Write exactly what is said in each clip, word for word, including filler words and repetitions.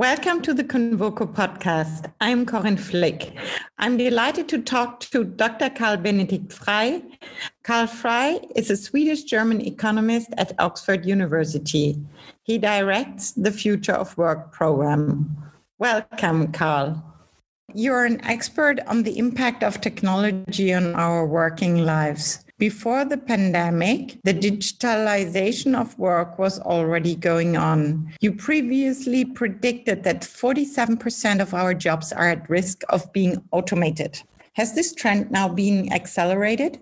Welcome to the Convoco podcast. I'm Corinne Flick. I'm delighted to talk to Doctor Carl Benedikt Frey. Carl Frey is a Swedish-German economist at Oxford University. He directs the Future of Work program. Welcome, Carl. You're an expert on the impact of technology on our working lives. Before the pandemic, the digitalization of work was already going on. You previously predicted that forty-seven percent of our jobs are at risk of being automated. Has this trend now been accelerated?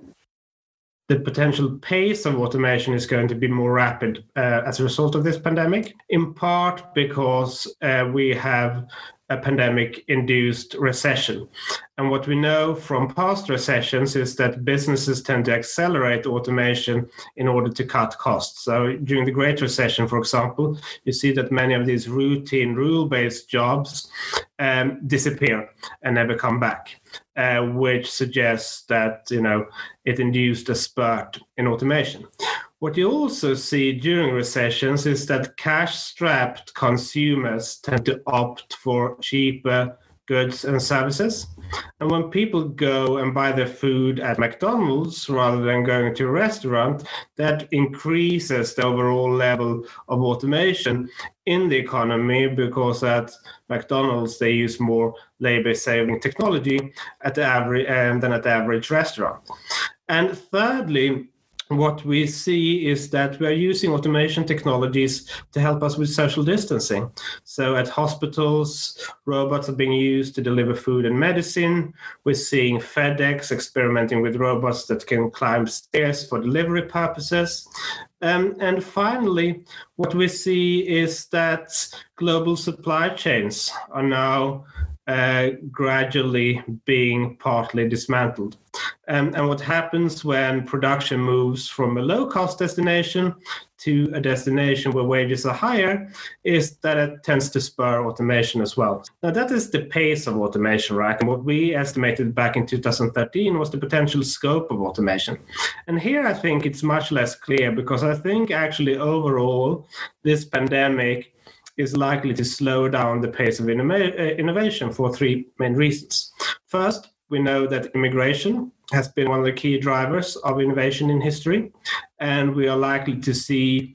The potential pace of automation is going to be more rapid uh, as a result of this pandemic, in part because uh, we have a pandemic-induced recession. And what we know from past recessions is that businesses tend to accelerate automation in order to cut costs. So during the Great Recession, for example, you see that many of these routine, rule-based jobs um, disappear and never come back, uh, which suggests that, you know, it induced a spurt in automation. What you also see during recessions is that cash-strapped consumers tend to opt for cheaper goods and services. And when people go and buy their food at McDonald's rather than going to a restaurant, that increases the overall level of automation in the economy, because at McDonald's they use more labor-saving technology at the average um, than at the average restaurant. And thirdly, what we see is that we are using automation technologies to help us with social distancing. So at hospitals, robots are being used to deliver food and medicine. We're seeing FedEx experimenting with robots that can climb stairs for delivery purposes. Um, and finally, what we see is that global supply chains are now uh, gradually being partly dismantled. Um, and what happens when production moves from a low-cost destination to a destination where wages are higher is that it tends to spur automation as well. Now, that is the pace of automation, right? And what we estimated back in two thousand thirteen was the potential scope of automation. And here I think it's much less clear, because I think actually overall this pandemic is likely to slow down the pace of innov- innovation for three main reasons. First, we know that immigration has been one of the key drivers of innovation in history, and we are likely to see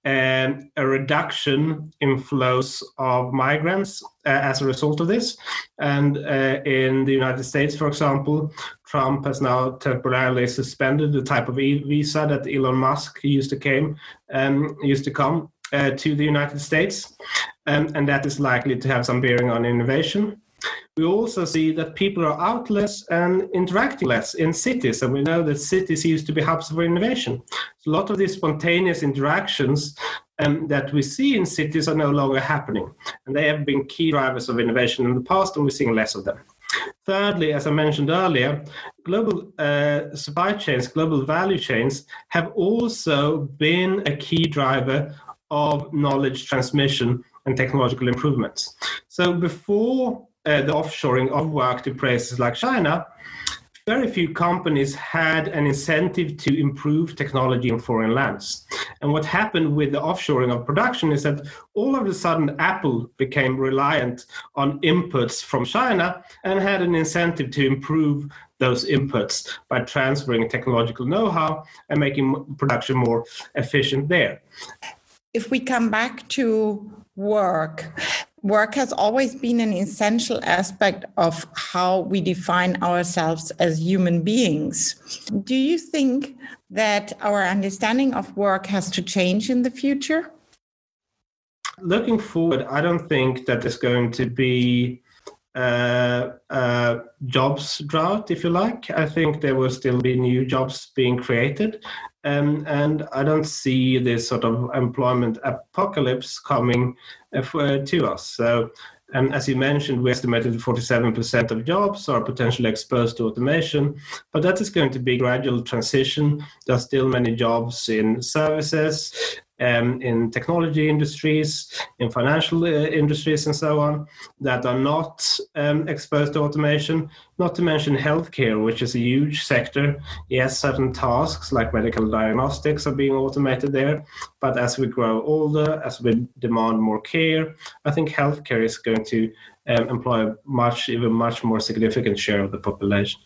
um, a reduction in flows of migrants uh, as a result of this. And uh, in the United States, for example, Trump has now temporarily suspended the type of e- visa that Elon Musk used to came um, used to come uh, to the United States, um, and that is likely to have some bearing on innovation. We also see that people are out less and interacting less in cities, and we know that cities used to be hubs for innovation. So a lot of these spontaneous interactions um, that we see in cities are no longer happening, and they have been key drivers of innovation in the past, and we're seeing less of them. Thirdly, as I mentioned earlier, global uh, supply chains, global value chains have also been a key driver of knowledge transmission and technological improvements. So before Uh, the offshoring of work to places like China, very few companies had an incentive to improve technology in foreign lands. And what happened with the offshoring of production is that all of a sudden Apple became reliant on inputs from China and had an incentive to improve those inputs by transferring technological know-how and making production more efficient there. If we come back to work, work has always been an essential aspect of how we define ourselves as human beings. Do you think that our understanding of work has to change in the future? Looking forward, I don't think that there's going to be uh, uh, jobs drought, if you like. I think there will still be new jobs being created. Um, and I don't see this sort of employment apocalypse coming uh, for, to us. So, um, as you mentioned, we estimated forty-seven percent of jobs are potentially exposed to automation, but that is going to be a gradual transition. There are still many jobs in services, um, in technology industries, in financial uh, industries, and so on, that are not um, exposed to automation, not to mention healthcare, which is a huge sector. Yes, certain tasks like medical diagnostics are being automated there, but as we grow older, as we demand more care, I think healthcare is going to um, employ much, even much more significant share of the population.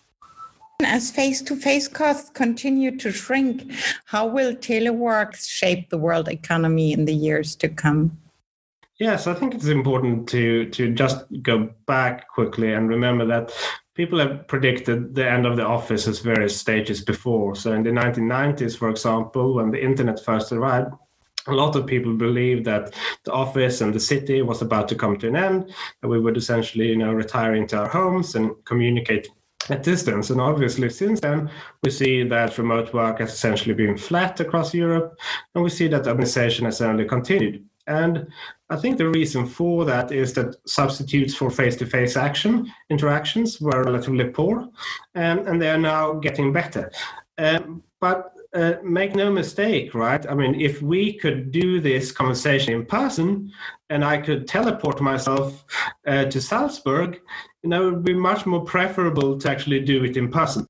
As face-to-face costs continue to shrink, how will telework shape the world economy in the years to come? Yes, I think it's important to to just go back quickly and remember that people have predicted the end of the office at various stages before. So in the nineteen nineties, for example, when the internet first arrived, a lot of people believed that the office and the city was about to come to an end, and we would essentially, you know, retire into our homes and communicate at distance. And obviously since then we see that remote work has essentially been flat across Europe, and we see that urbanization has only continued. And I think the reason for that is that substitutes for face-to-face action interactions were relatively poor, um, and they are now getting better. Um, but uh, make no mistake, right? I mean, if we could do this conversation in person, and I could teleport myself uh, to Salzburg, you know, it would be much more preferable to actually do it in person.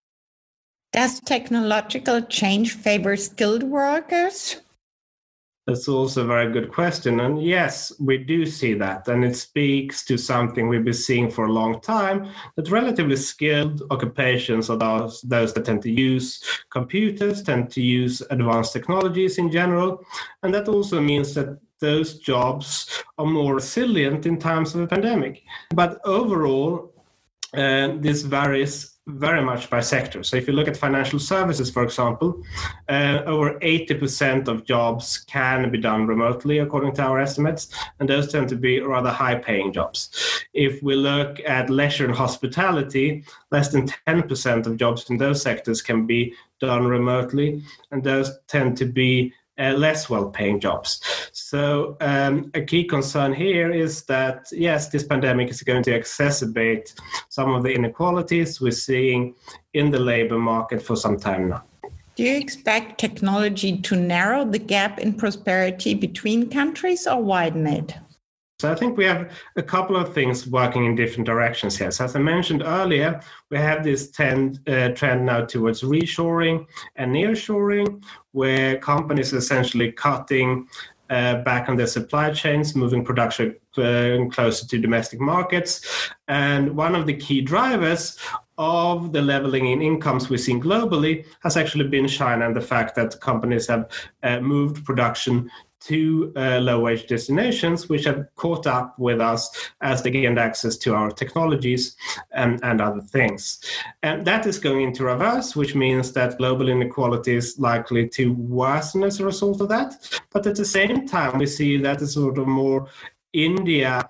Does technological change favor skilled workers? That's also a very good question. And yes, we do see that. And it speaks to something we've been seeing for a long time, that relatively skilled occupations are those, those that tend to use computers, tend to use advanced technologies in general. And that also means that those jobs are more resilient in times of a pandemic. But overall, uh, this varies very much by sector. So if you look at financial services, for example, uh, over eighty percent of jobs can be done remotely, according to our estimates, and those tend to be rather high-paying jobs. If we look at leisure and hospitality, less than ten percent of jobs in those sectors can be done remotely, and those tend to be Uh, less well-paying jobs. So um, a key concern here is that, yes, this pandemic is going to exacerbate some of the inequalities we're seeing in the labor market for some time now. Do you expect technology to narrow the gap in prosperity between countries or widen it? So I think we have a couple of things working in different directions here. So as I mentioned earlier, we have this trend, uh, trend now towards reshoring and nearshoring, where companies are essentially cutting uh, back on their supply chains, moving production uh, closer to domestic markets. And one of the key drivers of the leveling in incomes we've seen globally has actually been China, and the fact that companies have uh, moved production to uh, low-wage destinations, which have caught up with us as they gained access to our technologies and, and other things. And that is going into reverse, which means that global inequality is likely to worsen as a result of that. But at the same time, we see that a sort of more India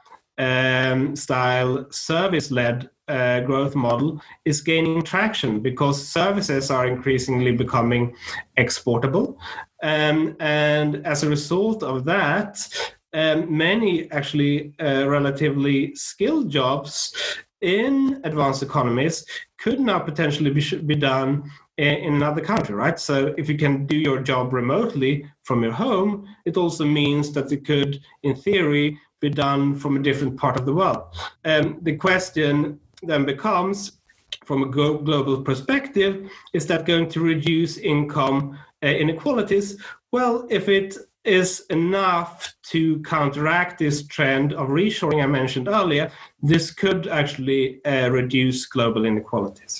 um, style service-led uh, growth model is gaining traction because services are increasingly becoming exportable. Um, and as a result of that, um, many actually uh, relatively skilled jobs in advanced economies could now potentially be, be done in another country, right? So if you can do your job remotely from your home, it also means that it could, in theory, be done from a different part of the world. Um, the question then becomes, from a go- global perspective, is that going to reduce income uh, inequalities? Well, if it is enough to counteract this trend of reshoring I mentioned earlier, this could actually uh, reduce global inequalities.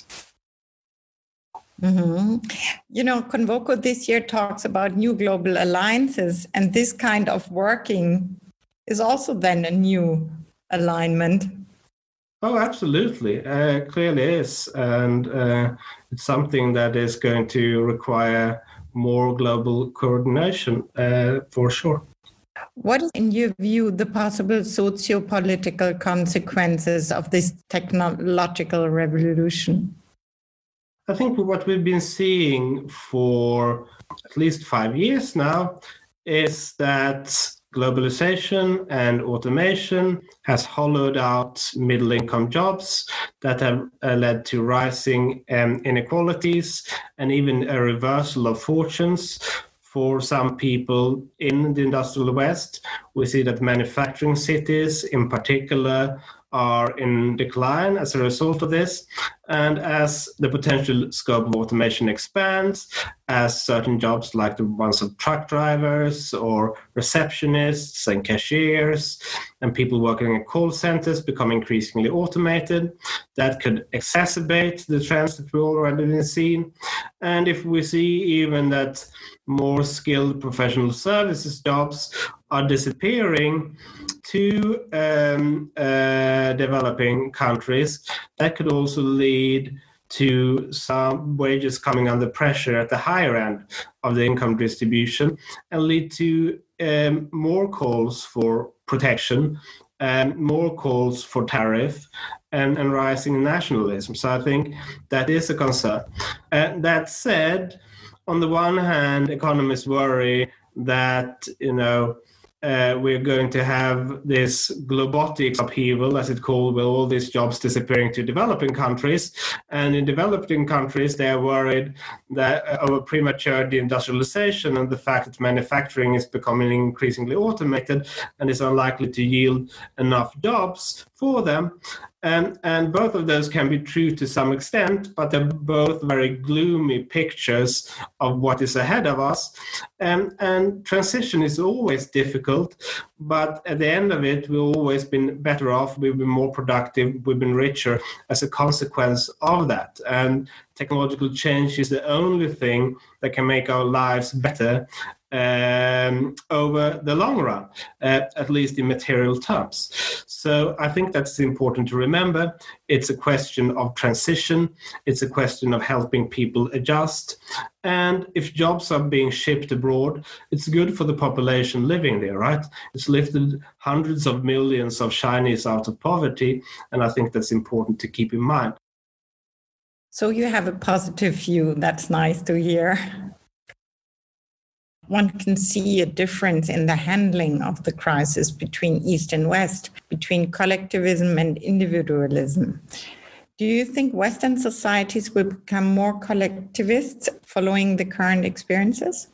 Mm-hmm. You know, Convoco this year talks about new global alliances, and this kind of working is also then a new alignment. Oh, absolutely. Uh, clearly is. And uh, it's something that is going to require more global coordination, uh, for sure. What is, in your view, the possible socio-political consequences of this technological revolution? I think what we've been seeing for at least five years now is that globalization and automation has hollowed out middle-income jobs that have uh, led to rising um, inequalities and even a reversal of fortunes for some people in the industrial West. We see that manufacturing cities in particular are in decline as a result of this. And as the potential scope of automation expands, as certain jobs like the ones of truck drivers or receptionists and cashiers and people working in call centers become increasingly automated, that could exacerbate the trends that we've already seen. And if we see even that more skilled professional services jobs are disappearing to um, uh, developing countries, that could also lead to some wages coming under pressure at the higher end of the income distribution and lead to um, more calls for protection and more calls for tariff and, and rising nationalism. So I think that is a concern. Uh, that said, on the one hand, economists worry that, you know, Uh, we're going to have this globotics upheaval, as it's called, with all these jobs disappearing to developing countries. And in developing countries, they are worried that uh, over premature deindustrialization and the fact that manufacturing is becoming increasingly automated and is unlikely to yield enough jobs for them. And, and both of those can be true to some extent, but they're both very gloomy pictures of what is ahead of us. And, and transition is always difficult, but at the end of it, we've always been better off, we've been more productive, we've been richer as a consequence of that. And technological change is the only thing that can make our lives better um, over the long run, uh, at least in material terms. So I think that's important to remember. It's a question of transition. It's a question of helping people adjust. And if jobs are being shipped abroad, it's good for the population living there, right? It's lifted hundreds of millions of Chinese out of poverty. And I think that's important to keep in mind. So you have a positive view. That's nice to hear. One can see a difference in the handling of the crisis between East and West, between collectivism and individualism. Do you think Western societies will become more collectivist following the current experiences?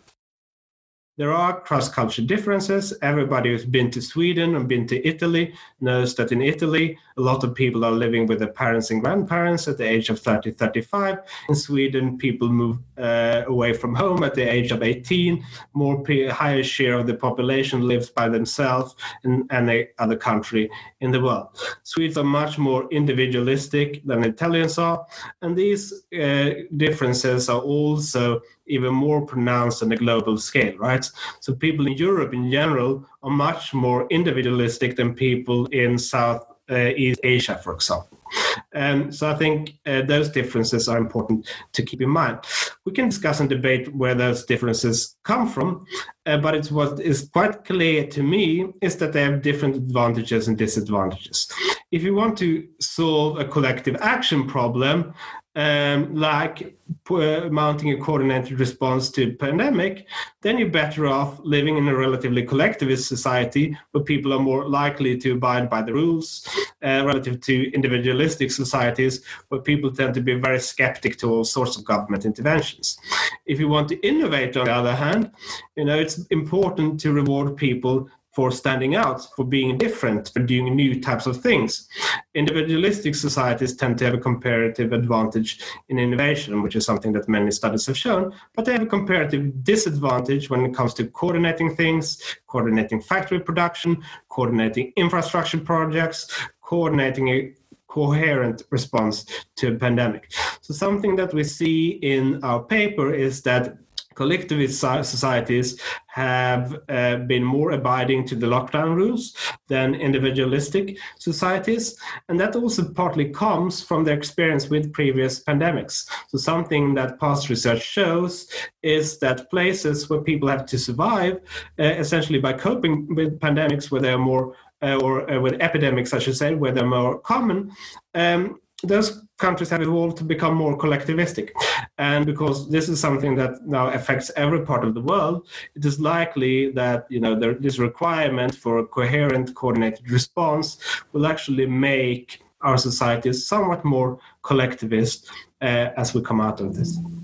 There are cross-cultural differences. Everybody who's been to Sweden and been to Italy knows that in Italy, a lot of people are living with their parents and grandparents at the age of thirty, thirty-five. In Sweden, people move uh, away from home at the age of eighteen. More p- higher share of the population lives by themselves in any other country in the world. Swedes are much more individualistic than Italians are. And these uh, differences are also even more pronounced on a global scale, right? So people in Europe in general are much more individualistic than people in South uh, East Asia, for example. Um, so I think uh, those differences are important to keep in mind. We can discuss and debate where those differences come from, uh, but it's what is quite clear to me is that they have different advantages and disadvantages. If you want to solve a collective action problem, Um, like uh, mounting a coordinated response to a pandemic, then you're better off living in a relatively collectivist society where people are more likely to abide by the rules, uh, relative to individualistic societies where people tend to be very skeptic to all sorts of government interventions. If you want to innovate, on the other hand, you know, it's important to reward people for standing out, for being different, for doing new types of things. Individualistic societies tend to have a comparative advantage in innovation, which is something that many studies have shown, but they have a comparative disadvantage when it comes to coordinating things, coordinating factory production, coordinating infrastructure projects, coordinating a coherent response to a pandemic. So something that we see in our paper is that collectivist societies have uh, been more abiding to the lockdown rules than individualistic societies. And that also partly comes from their experience with previous pandemics. So something that past research shows is that places where people have to survive, uh, essentially by coping with pandemics where they are more, uh, or uh, with epidemics, I should say, where they're more common, um, those countries have evolved to become more collectivistic. And because this is something that now affects every part of the world, it is likely that, you know, there, this requirement for a coherent, coordinated response will actually make our societies somewhat more collectivist uh, as we come out of this.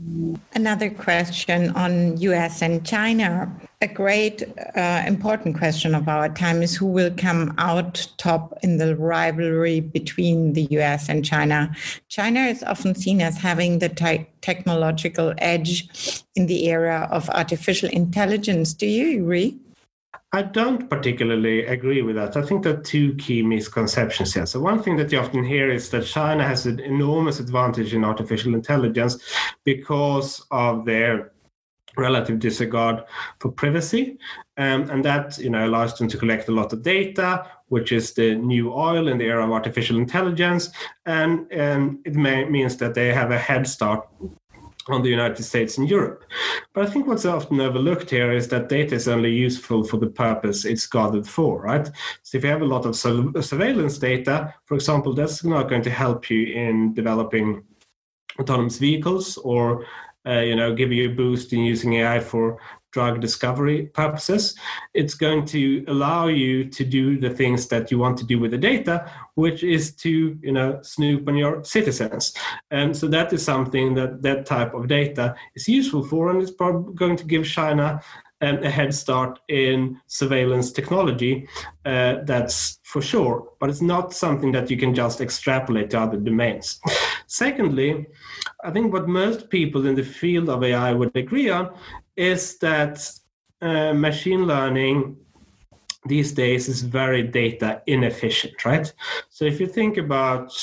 Another question on U S and China. A great uh, important question of our time is who will come out top in the rivalry between the U S and China. China is often seen as having the te- technological edge in the era of artificial intelligence. Do you agree? I don't particularly agree with that. I think there are two key misconceptions here. So one thing that you often hear is that China has an enormous advantage in artificial intelligence because of their relative disregard for privacy. Um, and that, you know, allows them to collect a lot of data, which is the new oil in the era of artificial intelligence. And, and it may, means that they have a head start on the United States and Europe. But I think what's often overlooked here is that data is only useful for the purpose it's gathered for, right? So if you have a lot of surveillance data, for example, that's not going to help you in developing autonomous vehicles or, uh, you know, give you a boost in using A I for drug discovery purposes. It's going to allow you to do the things that you want to do with the data, which is to, you know, snoop on your citizens. And so that is something that that type of data is useful for, and it's probably going to give China um, a head start in surveillance technology. Uh, that's for sure, but it's not something that you can just extrapolate to other domains. Secondly, I think what most people in the field of A I would agree on is that uh, machine learning these days is very data inefficient, right? So if you think about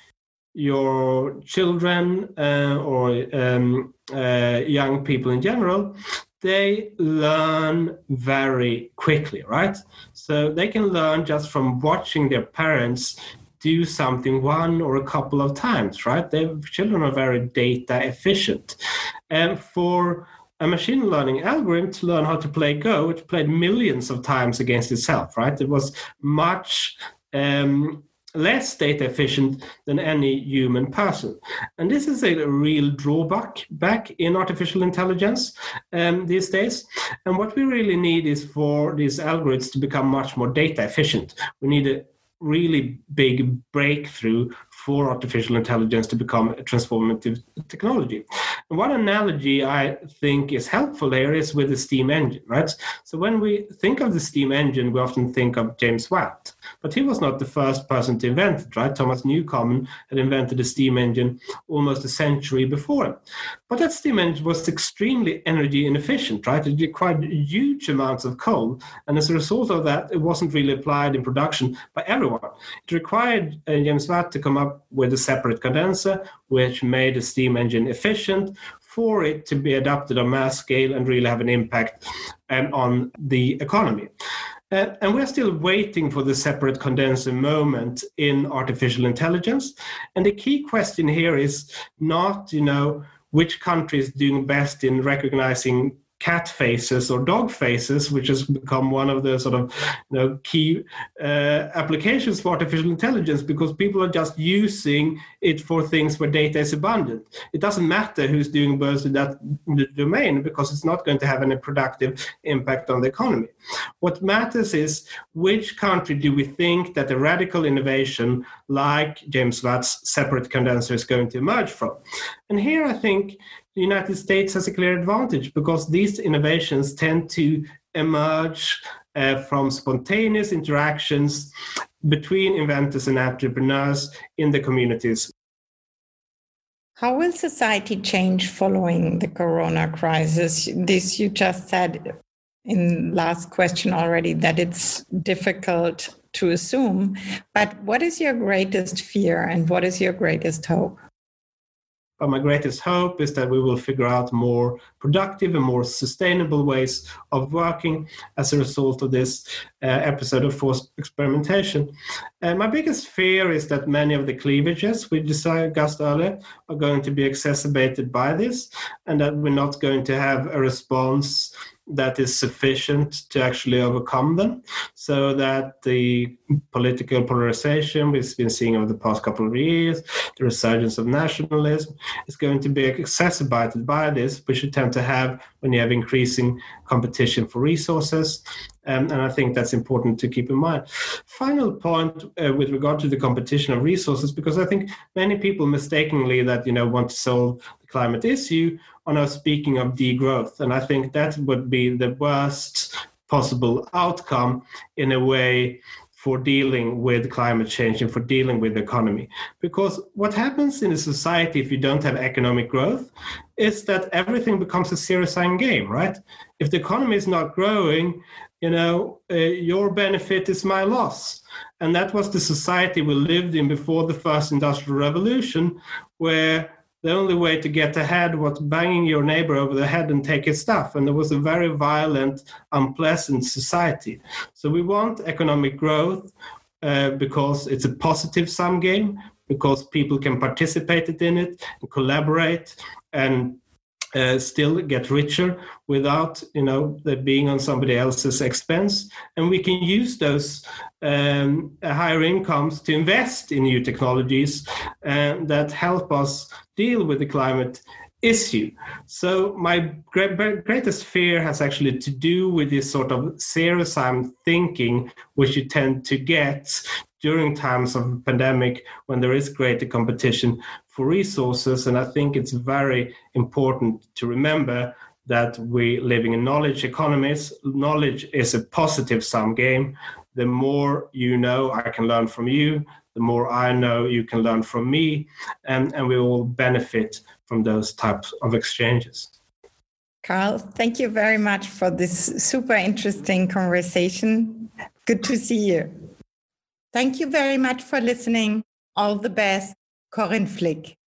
your children uh, or um, uh, young people in general, they learn very quickly, right? So they can learn just from watching their parents do something one or a couple of times, right? Their children are very data efficient. And for a machine learning algorithm to learn how to play Go, it played millions of times against itself, right? It was much um, less data efficient than any human person. And this is a real drawback back in artificial intelligence um, these days. And what we really need is for these algorithms to become much more data efficient. We need a really big breakthrough for artificial intelligence to become a transformative technology. And one analogy I think is helpful here is with the steam engine, right? So when we think of the steam engine, we often think of James Watt, but he was not the first person to invent it, right? Thomas Newcomen had invented the steam engine almost a century before him. But that steam engine was extremely energy inefficient, right? It required huge amounts of coal. And as a result of that, it wasn't really applied in production by everyone. It required uh, James Watt to come up with a separate condenser, which made the steam engine efficient for it to be adopted on mass scale and really have an impact um, on the economy. Uh, and we're still waiting for the separate condenser moment in artificial intelligence. And the key question here is not, you know, which country is doing best in recognizing cat faces or dog faces, which has become one of the sort of, you know, key uh, applications for artificial intelligence, because people are just using it for things where data is abundant. It doesn't matter who's doing best in that domain, because it's not going to have any productive impact on the economy. What matters is which country do we think that a radical innovation like James Watt's separate condenser is going to emerge from? And here I think the United States has a clear advantage, because these innovations tend to emerge uh, from spontaneous interactions between inventors and entrepreneurs in the communities. How will society change following the corona crisis? This you just said in last question already, that it's difficult to assume. But what is your greatest fear and what is your greatest hope? But my greatest hope is that we will figure out more productive and more sustainable ways of working as a result of this uh, episode of forced experimentation. And my biggest fear is that many of the cleavages we discussed earlier are going to be exacerbated by this, and that we're not going to have a response that is sufficient to actually overcome them, so that the political polarization we've been seeing over the past couple of years, the resurgence of nationalism is going to be exacerbated by this, which you tend to have when you have increasing competition for resources. Um, and I think that's important to keep in mind. Final point uh, with regard to the competition of resources, because I think many people mistakenly that, you know, want to solve the climate issue are now speaking of degrowth. And I think that would be the worst possible outcome in a way for dealing with climate change and for dealing with the economy. Because what happens in a society if you don't have economic growth is that everything becomes a zero-sum game, right? If the economy is not growing, you know, uh, your benefit is my loss. And that was the society we lived in before the first industrial revolution, where the only way to get ahead was banging your neighbor over the head and take his stuff. And it was a very violent, unpleasant society. So we want economic growth uh, because it's a positive sum game, because people can participate in it and collaborate and uh, still get richer without, you know, being on somebody else's expense. And we can use those um, higher incomes to invest in new technologies uh, that help us deal with the climate issue. So my great, greatest fear has actually to do with this sort of zero-sum thinking, which you tend to get during times of pandemic when there is greater competition for resources. And I think it's very important to remember that we're living in knowledge economies. Knowledge is a positive sum game. The more you know, I can learn from you. The more I know, you can learn from me, and, and we all benefit from those types of exchanges. Carl, thank you very much for this super interesting conversation. Good to see you. Thank you very much for listening. All the best, Corinne Flick.